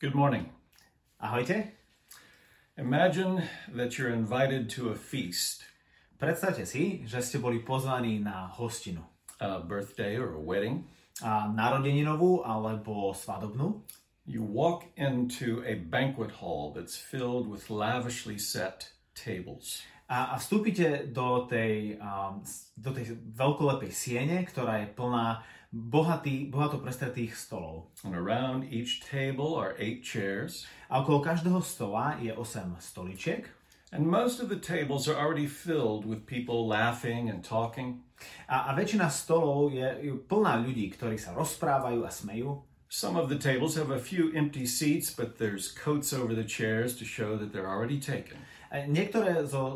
Good morning. Ahojte. Imagine that you're invited to a feast, Predstavte si, že ste boli pozvaní na hostinu. a birthday or a wedding. Narodeninovú alebo svadobnú. You walk into a banquet hall that's filled with lavishly set tables. A vstúpite do tej veľkolepej siene, ktorá je plná bohato prestretých stolov. And around each table are 8 chairs. A okolo každého stola je 8 stoličiek. And most of the tables are already filled with people laughing and talking. A väčšina stolov je plná ľudí, ktorí sa rozprávajú a smejú. Some of the tables have a few empty seats, but there's coats over the chairs to show that they're already taken. Niektoré zo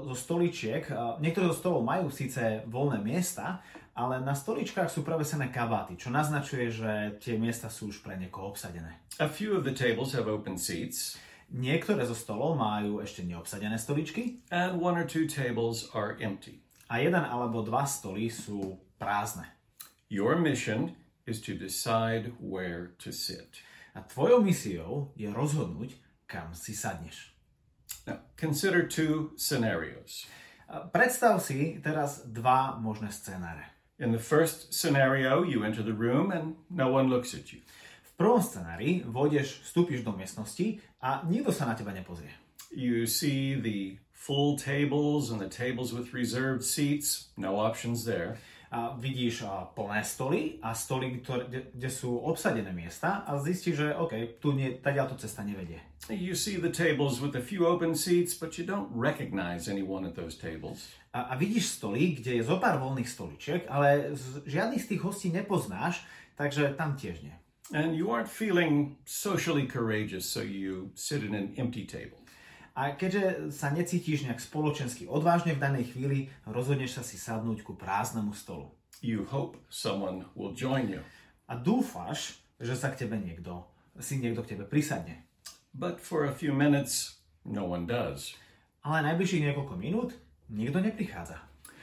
stolov majú síce voľné miesta, ale na stoličkách sú prevesené kabáty, čo naznačuje, že tie miesta sú už pre niekoho obsadené. A few of the tables have open seats. Niektoré zo stolov majú ešte neobsadené stoličky And 1 or 2 tables are empty. a 1 alebo 2 stoly sú prázdne. Your mission is to decide where to sit. A tvojou misiou je rozhodnúť, kam si sadneš. Now, consider 2 scenarios. Predstav si teraz 2 možné scenáre. In the first scenario, you enter the room and no one looks at you. V prvom scenári vstúpiš do miestnosti a nikto sa na teba nepozrie. You see the full tables and the tables with reserved seats, no options there. A vidíš plné stoly a stoly, kde sú obsadené miesta a zistíš, že OK, tadiaľto cesta nevedie. You see the tables with a few open seats, but you don't recognize anyone at those tables. A vidíš stoly, kde je zo pár voľných stoličiek, ale žiadnych z tých hostí nepoznáš, takže tam tiež nie. And you aren't feeling socially courageous, so you sit at an empty table. A keďže sa necítiš nejak spoločensky odvážne v danej chvíli, rozhodneš sa si sadnúť ku prázdnemu stolu. You hope someone will join you. A dúfáš, že sa niekto k tebe prisadne. But for a few minutes, no one does. Ale najbližších niekoľko minút nikto neprichádza.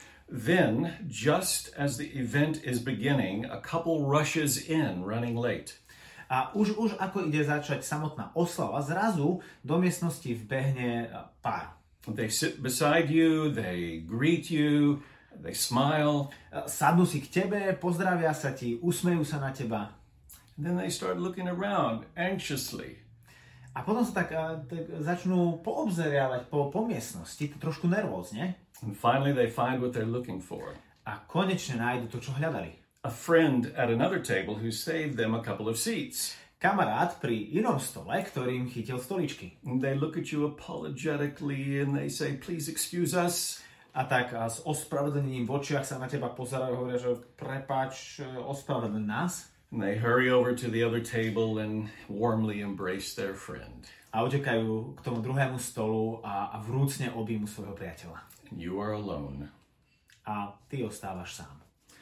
Then, just as the event is beginning, a couple rushes in, running late. A už ako ide začať samotná oslava, zrazu do miestnosti vbehne pár. They sit beside you, they greet you, they smile. Sadnú si k tebe, pozdravia sa ti, usmejú sa na teba. And then they start looking around anxiously. A potom sa tak začnú poobzeriavať po miestnosti, trošku nervózne. And finally they find what they're looking for. A konečne nájdu to, čo hľadali. A friend at another table who saved them a couple of seats. Kamarát pri inom stole, ktorým chytil stoličky. And they look at you apologetically and they say, please excuse us. A tak s ospravedlením v očiach sa na teba pozerajú a hovoria, že prepáč, ospravedlň nás. And they hurry over to the other table and warmly embrace their friend. A utekajú k tomu druhému stolu a vrúcne objímu svojho priateľa. And you are alone. A ty ostávaš sám.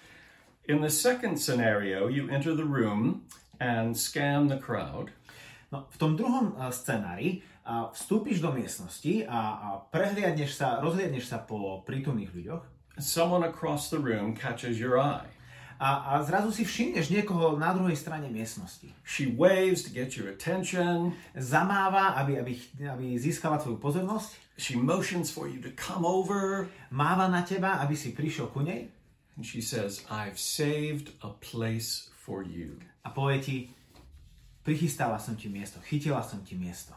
In the second scenario, you enter the room and scan the crowd. No, v tom druhom scenári vstúpiš do miestnosti a rozhliadneš sa po prítomných ľuďoch. Someone across the room catches your eye. A zrazu si všimneš niekoho na druhej strane miestnosti. She waves to get your attention. Zamáva, aby získala tvoju pozornosť. She motions for you to come over. Máva na teba, aby si prišiel ku nej. And she says, I've saved a place for you. A povie ti, prichystala som ti miesto, chytila som ti miesto.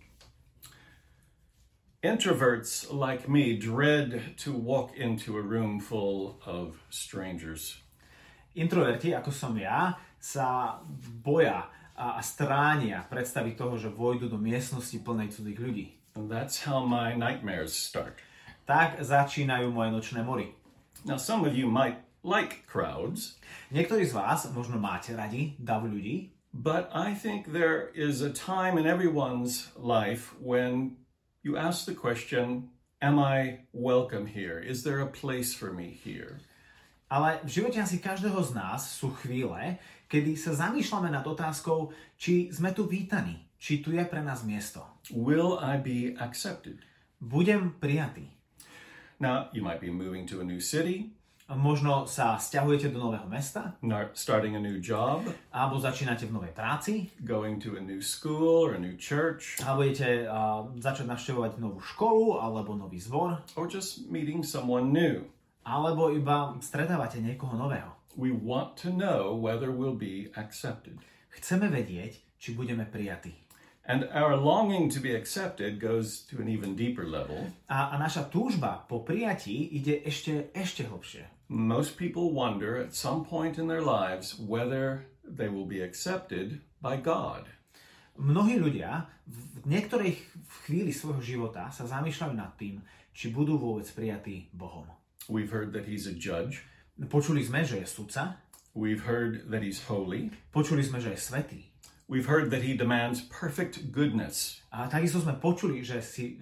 Introverts like me dread to walk into a room full of strangers. Introverti, ako som ja, sa boja a stránia predstaviť toho, že vojdu do miestnosti plnej cudzých ľudí. And that's how my nightmares start. Tak začínajú moje nočné mory. Now, some of you might like crowds. Niektorí z vás možno máte radi dav ľudí. But I think there is a time in everyone's life when you ask the question, am I welcome here? Is there a place for me here? Ale v živote asi každého z nás sú chvíle, kedy sa zamýšľame nad otázkou, či sme tu vítaní, či tu je pre nás miesto. Will I be accepted? Budem prijatý. Now, you might be moving to a new city, Možno sa sťahujete do nového mesta, starting a new job, alebo začínate v novej práci, going to a new school or a new church, alebo idete začať navštevovať novú školu alebo nový zbor, or just meeting someone new. alebo iba stretávate niekoho nového. We want to know whether we'll be accepted. Chceme vedieť, či budeme prijatí. And our longing to be accepted goes to an even deeper level. A naša túžba po prijatí ide ešte hlbšie. Most people wonder at some point in their lives whether they will be accepted by God. Mnohí ľudia v niektorej chvíli svojho života sa zamýšľajú nad tým, či budú vôbec prijatí Bohom. We've heard that he's a judge. Počuli sme, že je sudca. We've heard that he's holy. Počuli sme, že je svätý. We've heard that he demands perfect goodness. A takisto sme počuli, že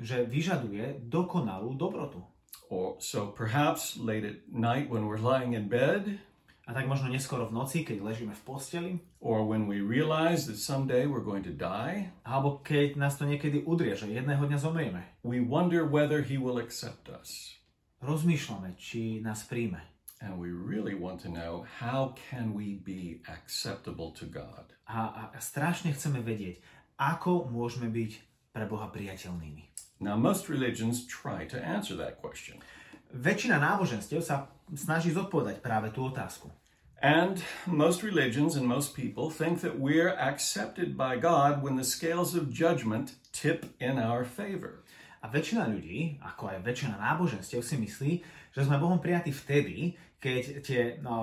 vyžaduje dokonalú dobrotu. Or so perhaps late at night when we're lying in bed. A tak možno neskoro v noci, keď ležíme v posteli. Or when we realize that someday we're going to die. Alebo keď nás to niekedy udrie, že jedného dňa zomrieme. We wonder whether he will accept us. Rozmýšľame, či nás príjme. And we really want to know, how can we be acceptable to God? A strašne chceme vedieť, ako môžeme byť pre Boha priateľnými. Now, most religions try to answer that question. Väčšina náboženstiev sa snaží zodpovedať práve tú otázku. And most religions and most people think that we're accepted by God when the scales of judgment tip in our favor. A väčšina ľudí, ako aj väčšina náboženstiev, si myslí, že sme Bohom prijatí vtedy, keď tie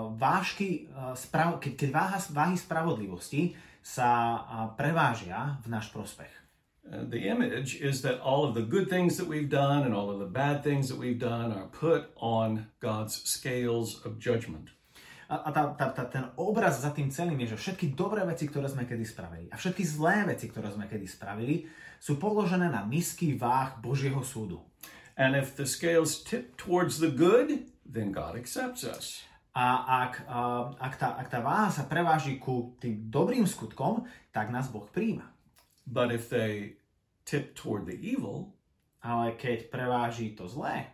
vážky, keď váhy spravodlivosti sa prevážia v náš prospech. The image is that all of the good things that we've done and all of the bad things that we've done are put on God's scales of judgment. A ten obraz za tým celým je, že všetky dobré veci, ktoré sme kedy spravili a všetky zlé veci, ktoré sme kedy spravili, sú položené na misky váh Božieho súdu. And if the scales tip towards the good, then God accepts us. A ak tá váha sa preváži ku tým dobrým skutkom, tak nás Boh prijíma. But if they tip toward the evil, ale keď preváži to zlé,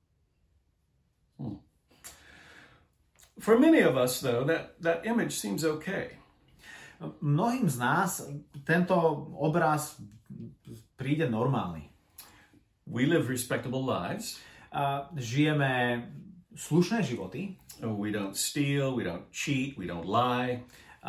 For many of us, though, that image seems okay. Mnohým z nás tento obraz príde normálny. We live respectable lives. Žijeme slušné životy. We don't steal, we don't cheat, we don't lie.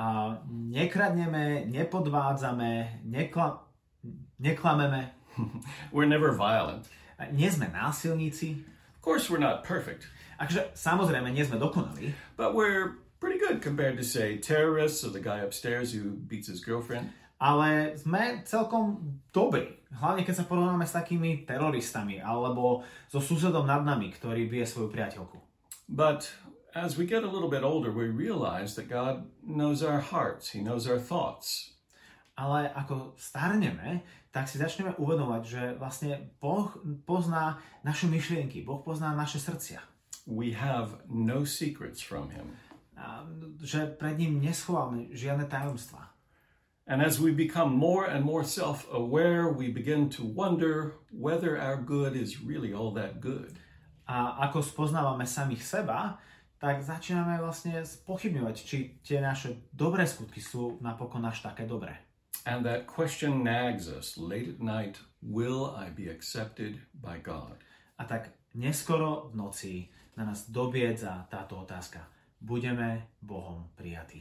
Nekradneme, nepodvádzame, neklameme. We're never violent. Nie sme násilníci. Of course, we're not perfect. Takže samozrejme nie sme dokonalí. But we're pretty good compared to, say, terrorists or the guy upstairs who beats his girlfriend. Ale sme celkom dobrí. Hlavne keď sa porovnáme s takými teroristami alebo so susedom nad nami, ktorý bije svoju priateľku. But as we get a little bit older, we realize that God knows our hearts. He knows our thoughts. Ale ako starneme, tak si začneme uvedomať, že vlastne Boh pozná naše myšlienky, Boh pozná naše srdcia. We have no secrets from him. Že pred ním neschováme žiadne tajomstvá. And as we become more and more self-aware, we begin to wonder whether our good is really all that good. A ako spoznávame samých seba, tak začíname vlastne spochybňovať, či tie naše dobré skutky sú napokon až také dobré. And that question nags us late at night, will I be accepted by God? A tak neskoro v noci na nás dobiedza táto otázka. Budeme Bohom prijatí.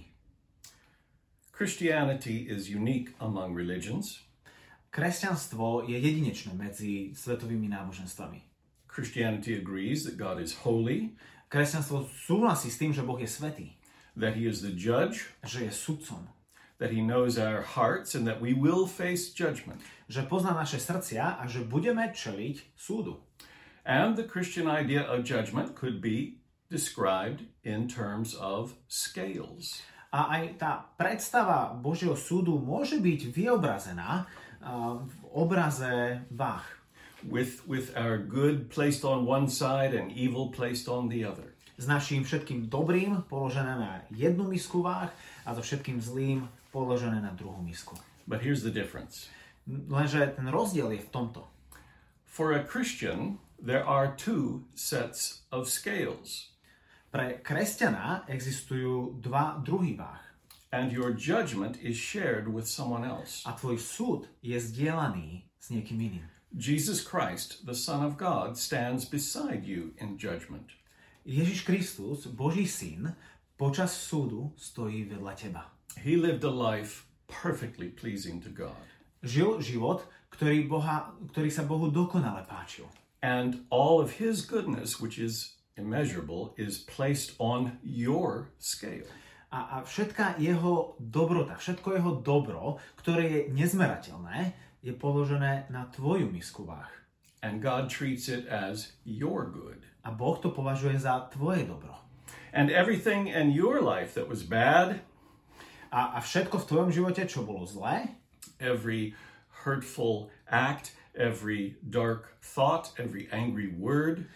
Christianity is unique among religions. Kresťanstvo je jedinečné medzi svetovými náboženstvami. Christianity agrees that God is holy. Kresťanstvo súhlasí s tým, že Boh je svätý. That he is the judge. Že je sudcom. That he knows our hearts and that we will face judgment. Že pozná naše srdcia a že budeme čeliť súdu. And the Christian idea of judgment could be described in terms of scales. A aj tá predstava Božieho súdu môže byť vyobrazená v obraze váh. With our good placed on one side and evil placed on the other. S naším všetkým dobrým položené na jednu misku váh a so všetkým zlým položené na druhú misku. But here's the difference. Lenže ten rozdiel je v tomto. For a Christian, there are two sets of scales. Pre kresťana existujú dva druhy váh. And your judgment is shared with someone else. A tvoj súd je zdieľaný s niekým iným. Jesus Christ, the Son of God, stands beside you in judgment. Ježiš Kristus, Boží syn, počas súdu stojí vedľa teba. He lived a life perfectly pleasing to God. Žil život, ktorý sa Bohu dokonale páčil. And all of his goodness, which is immeasurable, is placed on your scale. A všetká jeho dobrota, všetko jeho dobro, ktoré je nezmerateľné, je položené na tvoju misku váh. And God treats it as your good. A Boh to považuje za tvoje dobro. And everything in your life that was bad, A všetko v tvojom živote, čo bolo zlé, every hurtful act, every dark thought, every angry word,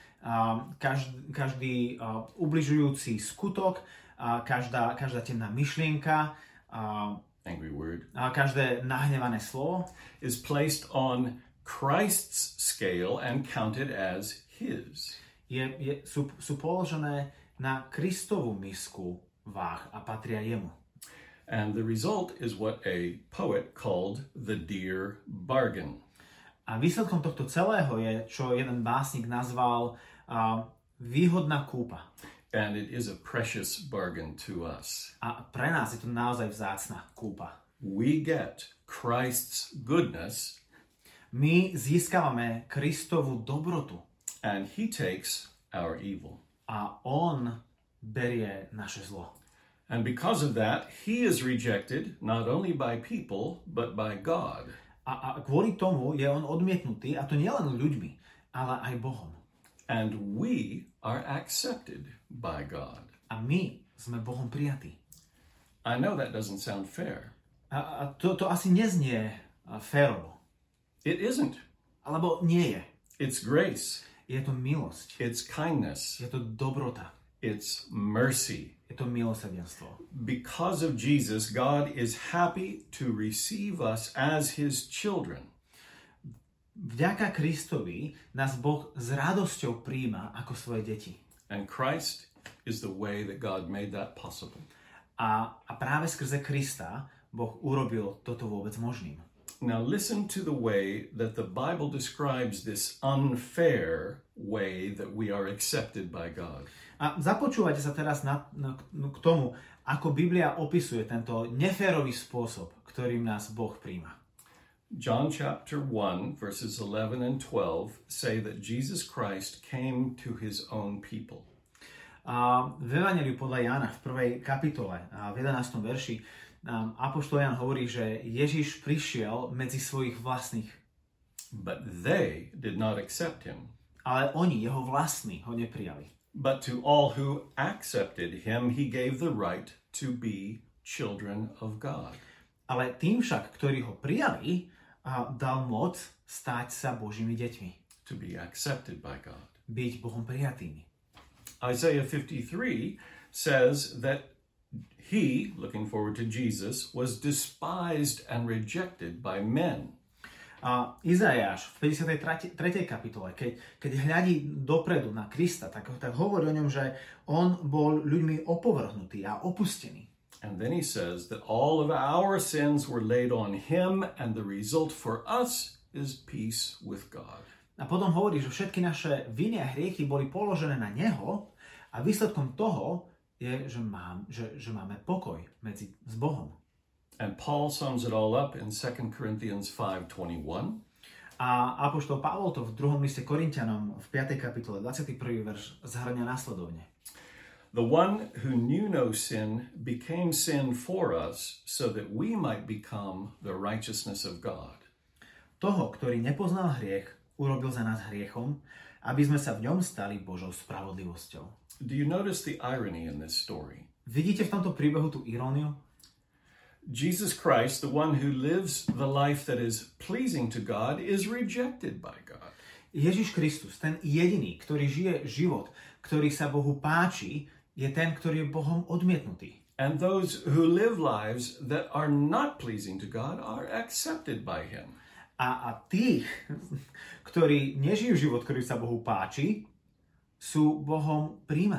každý ubližujúci skutok, každá temná myšlienka, angry word, každé nahnevané slovo is placed on Christ's scale and counted as his. sú položené na Kristovu misku váh a patria jemu. And the result is what a poet called the dear bargain. A výsledkom tohto celého je, čo jeden básnik nazval výhodná kúpa. And it is a precious bargain to us. A pre nás je to naozaj vzácna kúpa. We get Christ's goodness. My získavame Kristovu dobrotu. And he takes our evil. A on berie naše zlo. And because of that, he is rejected not only by people, but by God. A kvôli tomu je on odmietnutý, a to nielen ľuďmi, ale aj Bohom. And we are accepted by God. A my sme Bohom prijatí. I know that doesn't sound fair. A to asi neznie férovo. It isn't. Alebo nie je. It's grace. Je to milosť. It's kindness. Je to dobrota. It's mercy. Je to milosrdenstvo. Because of Jesus, God is happy to receive us as his children. Vďaka Kristovi nás Boh s radosťou prijíma ako svoje deti. And Christ is the way that God made that possible. A práve skrze Krista Boh urobil toto vôbec možným. Now listen to the way that the Bible describes this unfair way that we are accepted by God. A započúvajte sa teraz k tomu, ako Biblia opisuje tento neférový spôsob, ktorým nás Boh prijíma. John chapter 1 verses 11 and 12 say that Jesus Christ came to his own people. V Evangeliu podľa Jána v 1. kapitole v 11. verši apoštol Ján hovorí, že Ježiš prišiel medzi svojich vlastných. But they did not accept him. Ale oni, jeho vlastní, ho neprijali. But to all who accepted him, he gave the right to be children of God. Ale tým však, ktorí ho prijali, dal moc stať sa Božími deťmi. To be accepted by God. Byť Bohom prijatými. Isaiah 53 says that he, looking forward to Jesus, was despised and rejected by men. Izaiáš v 53. kapitole, keď hľadí dopredu na Krista, tak hovorí o ňom, že on bol ľuďmi opovrhnutý a opustený. And then he says that all of our sins were laid on him and the result for us is peace with God. A potom hovorí, že všetky naše viny a hriechy boli položené na neho a výsledkom toho je, že máme pokoj s Bohom. And Paul sums it all up in 2 Corinthians 5:21. A apoštol Pavol to v 2. liste Korinťanom v 5. kapitole 21. verš zhrňa následovne. The one who knew no sin became sin for us so that we might become the righteousness of God. Toho, ktorý nepoznal hriech, urobil za nás hriechom, aby sme sa v ňom stali Božou spravodlivosťou. Do you notice the irony in this story? Vidíte v tomto príbehu tú iróniu? Jesus Christ, the one who lives the life that is pleasing to God, is rejected by God. Ježiš Kristus, ten jediný, ktorý žije život, ktorý sa Bohu páči, je ten, ktorý je Bohom odmietnutý. And those who live lives that are not pleasing to God are accepted by him. A tých, ktorí nežijú život, ktorý sa Bohu páči, sú Bohom prijímaní.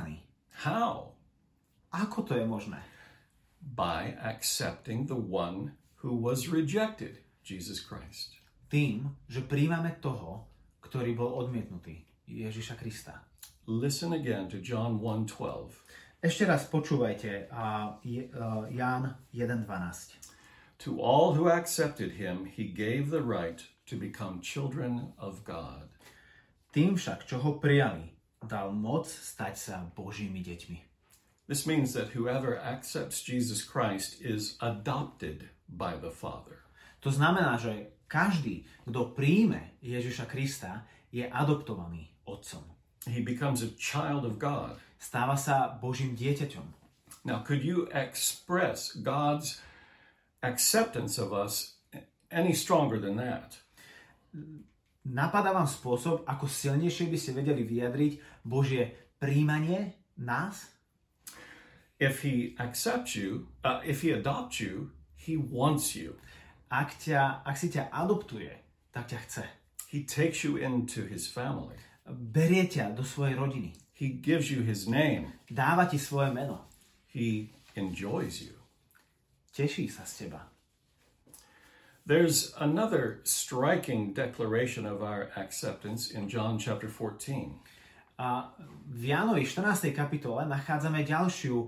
How? Ako to je možné? By accepting the one who was rejected, Jesus Christ. Tým, že príjmame toho, ktorý bol odmietnutý, Ježiša Krista. Listen again to John 1:12. Ešte raz počúvajte Ján 1.12. To all who accepted him, he gave the right to become children of God. Tým však, čo ho prijali, dal moc stať sa Božími deťmi. This means that whoever accepts Jesus Christ is adopted by the Father. To znamená, že každý, kto príjme Ježiša Krista, je adoptovaný Otcom. He becomes a child of God. Stáva sa Božím dieťaťom. Now, could you express God's acceptance of us any stronger than that? Napadá vám spôsob, ako silnejšie by ste vedeli vyjadriť Božie príjmanie nás? If he accepts you, if he adopts you, he wants you. Ak si ťa adoptuje, tak ťa chce. He takes you into his family. Berie ťa do svojej rodiny. He gives you his name. Dáva ti svoje meno. He enjoys you. Teší sa z teba. There's another striking declaration of our acceptance in John chapter 14. A v Jánovi 14. kapitole nachádzame ďalší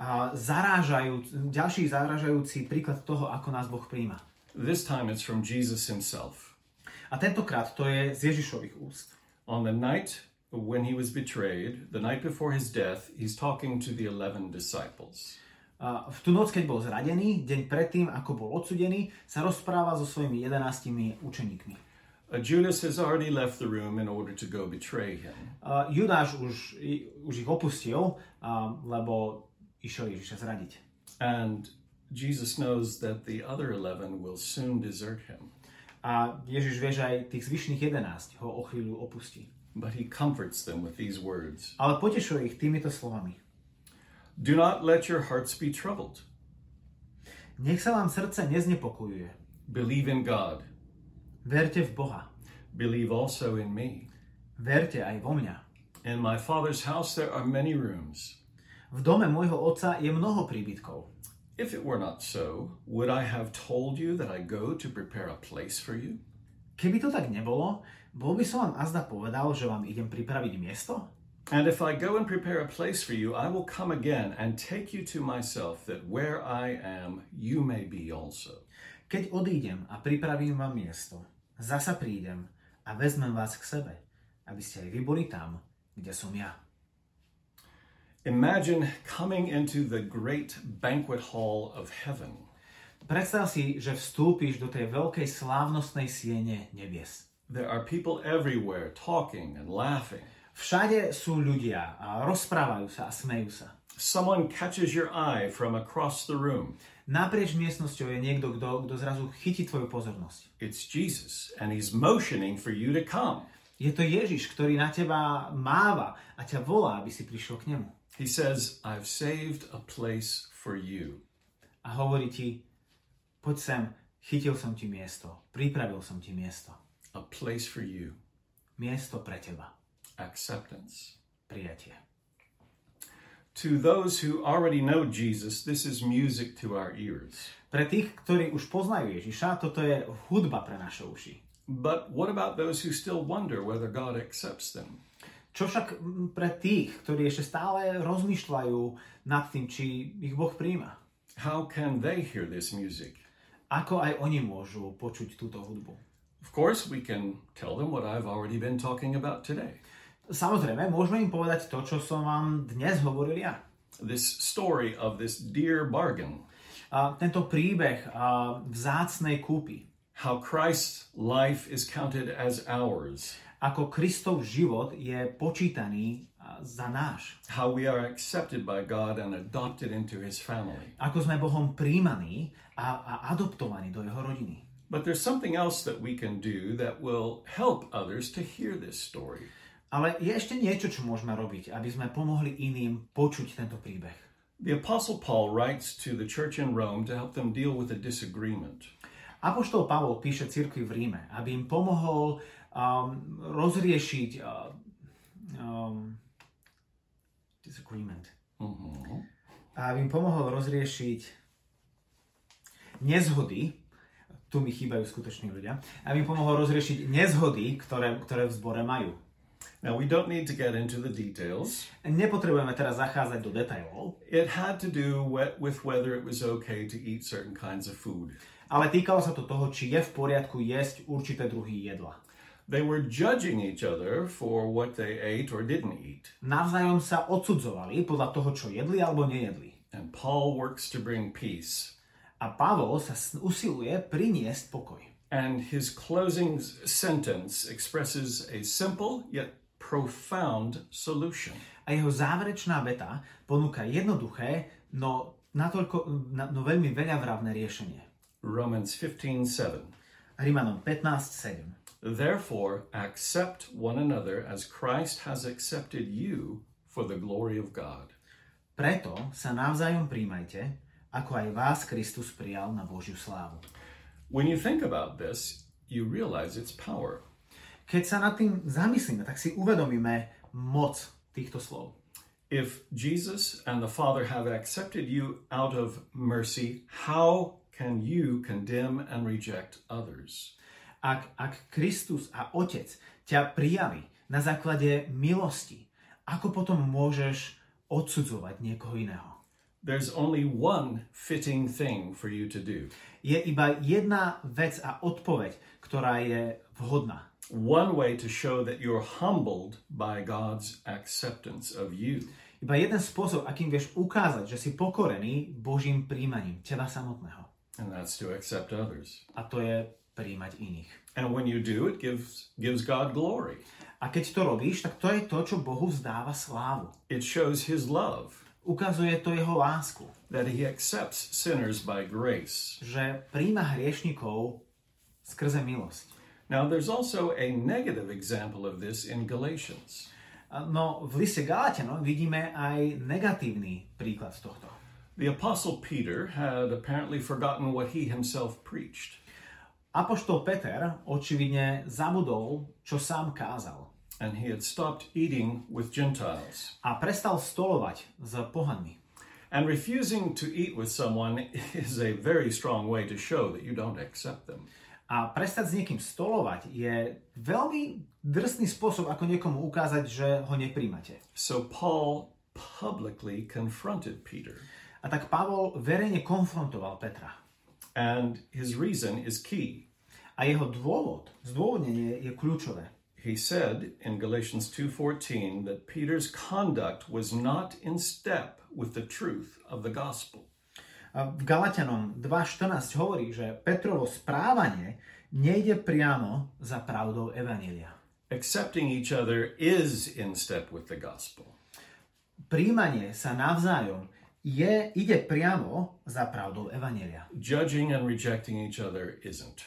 zarážajúci príklad toho, ako nás Boh prijíma. This time it's from Jesus himself. A tentokrát to je z Ježišových úst. On the night when he was betrayed, the night before his death, he's talking to the 11 disciples. V tú noc, keď bol zradený, deň predtým, ako bol odsudený, sa rozpráva so svojimi 11 učeníkmi. Judas has already left the room in order to go betray him. Judáš už ich opustil, lebo išiel Ježiša zradiť. And Jesus knows that the other 11 will soon desert him. A Ježiš vie, že aj tých zvyšných 11 ho o chvíľu opustí. But he comforts them with these words. Ale potešuje ich týmito slovami. Do not let your hearts be troubled. Nech sa vám srdce neznepokojuje. Believe in God. Verte v Boha. Believe also in me. Verte aj vo mňa. In my Father's house there are many rooms. V dome môjho otca je mnoho príbytkov. If it were not so, would I have told you that I go to prepare a place for you? Keby to tak nebolo, bol by som vám azda povedal, že vám idem pripraviť miesto? And if I go and prepare a place for you, I will come again and take you to myself, that where I am, you may be also. Keď odídem a pripravím vám miesto, zasa prídem a vezmem vás k sebe, aby ste aj vy boli tam, kde som ja. Imagine coming into the great banquet hall of heaven. Predstav si, že vstúpiš do tej veľkej slávnostnej siene nebies. There are people everywhere talking and laughing. Všade sú ľudia a rozprávajú sa a smejú sa. Someone catches your eye from across the room. Naprieč miestnosťou je niekto, kto zrazu chytí tvoju pozornosť. It's Jesus, and he's motioning for you to come. Je to Ježiš, ktorý na teba máva a ťa volá, aby si prišiel k nemu. He says, I've saved a place for you. A hovorí ti, poď sem, chytil som ti miesto, pripravil som ti miesto. A place for you. Miesto pre teba. Acceptance. Prijatie. To those who already know Jesus, this is music to our ears. Pre tých, ktorí už poznajú Ježiša, toto je hudba pre naše uši. But what about those who still wonder whether God accepts them? Čo však pre tých, ktorí ešte stále rozmýšľajú nad tým, či ich Boh prijíma? How can they hear this music? Ako aj oni môžu počuť túto hudbu? Of course, we can tell them what I've already been talking about today. Samozrejme, môžeme im povedať to, čo som vám dnes hovoril ja. This story of this dear bargain. Tento príbeh vzácnej kúpy. How Christ's life is counted as ours. Ako Kristov život je počítaný za náš. How we are accepted by God and adopted into his family. Ako sme Bohom prijímaní a adoptovaní do jeho rodiny. But there's something else that we can do that will help others to hear this story. Ale je ešte niečo, čo môžeme robiť, aby sme pomohli iným počuť tento príbeh. The Apostle Paul writes to the church in Rome to help them deal with a disagreement. Apoštol Pavol píše cirkvi v Ríme, aby im pomohol rozriešiť disagreement. A aby im pomohol rozriešiť nezhody, tu mi chýbajú skutoční ľudia, aby im pomohol rozriešiť nezhody, ktoré v zbore majú. Now, we don't need to get into the details. Nepotrebujeme teraz zachádzať do detailov. It had to do with whether it was okay to eat certain kinds of food. Ale týkalo sa to toho, či je v poriadku jesť určité druhy jedla. They were judging each other for what they ate or didn't eat. Navzájom sa odsudzovali podľa toho, čo jedli alebo nejedli. And Paul works to bring peace. A Pavol sa usiluje priniesť pokoj. And his closing sentence expresses a simple yet profound solution. A jeho záverečná veta ponúka jednoduché, no veľmi veľavravné riešenie. Romans 15:7. Rimanom 15:7. Therefore, accept one another as Christ has accepted you for the glory of God. Preto sa navzájom príjmajte, ako aj vás Kristus prijal na Božiu slávu. When you think about this, you realize its power. Keď sa nad tým zamyslíme, tak si uvedomíme moc týchto slov. If Jesus and the Father have accepted you out of mercy, how can you condemn and reject others? Ak Kristus a Otec ťa prijali na základe milosti, ako potom môžeš odsudzovať niekoho iného? There's only one fitting thing for you to do. Je iba jedna vec a odpoveď, ktorá je vhodná. One way to show that you're humbled by God's acceptance of you. Iba jeden spôsob, akým vieš ukázať, že si pokorený Božím príjmaním teba samotného. And that's to accept others. A to je príjmať iných. And when you do, it gives God glory. A keď to robíš, tak to je to, čo Bohu vzdáva slávu. It shows his love. Ukazuje to jeho lásku. That he accepts sinners by grace. Že príjma hriešnikov skrze milosť. Now there's also a negative example of this in Galatians. No v liste Galatianom vidíme aj negatívny príklad tohto. The Apostle Peter had apparently forgotten what he himself preached. Apoštol Peter očividne zabudol, čo sám kázal. And he had stopped eating with Gentiles. A prestal stolovať s pohanmi. And refusing to eat with someone is a very strong way to show that you don't accept them. A prestať s niekým stolovať je veľmi drsný spôsob, ako niekomu ukázať, že ho nepríjmate. So Paul publicly confronted Peter. A tak Pavol verejne konfrontoval Petra. And his reason is key. A jeho zdôvodnenie je kľúčové. He said in Galatians 2:14 that Peter's conduct was not in step with the truth of the gospel. A v Galatianom 2.14 hovorí, že Petrovo správanie nejde priamo za pravdou evanjelia. Accepting each other is in step with the gospel. Príjmanie sa navzájom ide priamo za pravdou evanjelia. Judging and rejecting each other isn't.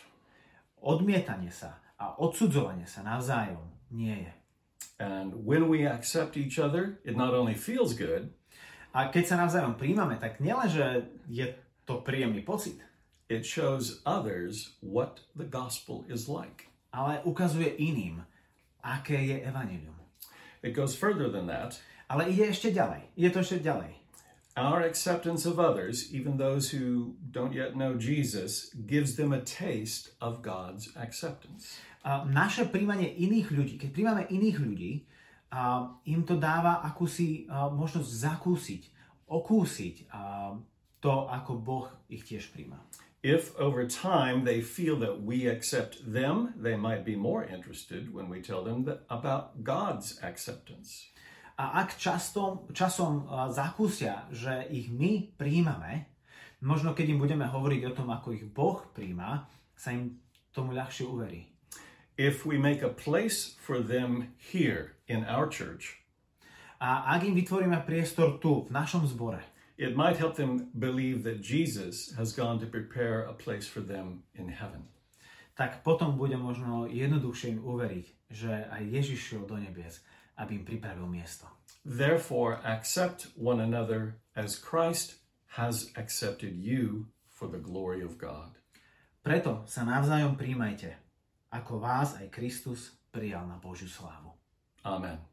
Odmietanie sa a odsudzovanie sa navzájom nie je. And when we accept each other, it not only feels good, a keď sa navzájom príjmame, tak nielenže je to príjemný pocit, it shows others what the gospel is like. Ale ukazuje iným, aké je evanjelium. It goes further than that. Ale ide ešte ďalej. Ide to ešte ďalej. Our acceptance of others, even those who don't yet know Jesus, gives them a taste of God's acceptance. Naše príjmanie iných ľudí, keď príjmame iných ľudí, im to dáva akúsi možnosť zakúsiť, okúsiť to, ako Boh ich tiež príjma. If over time they feel that we accept them, they might be more interested when we tell them about God's acceptance. A ak časom zakúsia, že ich my príjmame, možno keď im budeme hovoriť o tom, ako ich Boh príjma, sa im tomu ľahšie uverí. If we make a place for them here in our church, a ak im vytvoríme priestor tu, v našom zbore, it might help them believe that Jesus has gone to prepare a place for them in heaven. Tak potom bude možno jednoduchšie im uveriť, že aj Ježiš šiel do nebies, aby im pripravil miesto. Therefore, accept one another as Christ has accepted you for the glory of God. Preto sa navzájom príjmajte, ako vás aj Kristus prijal na Božiu slávu. Amen.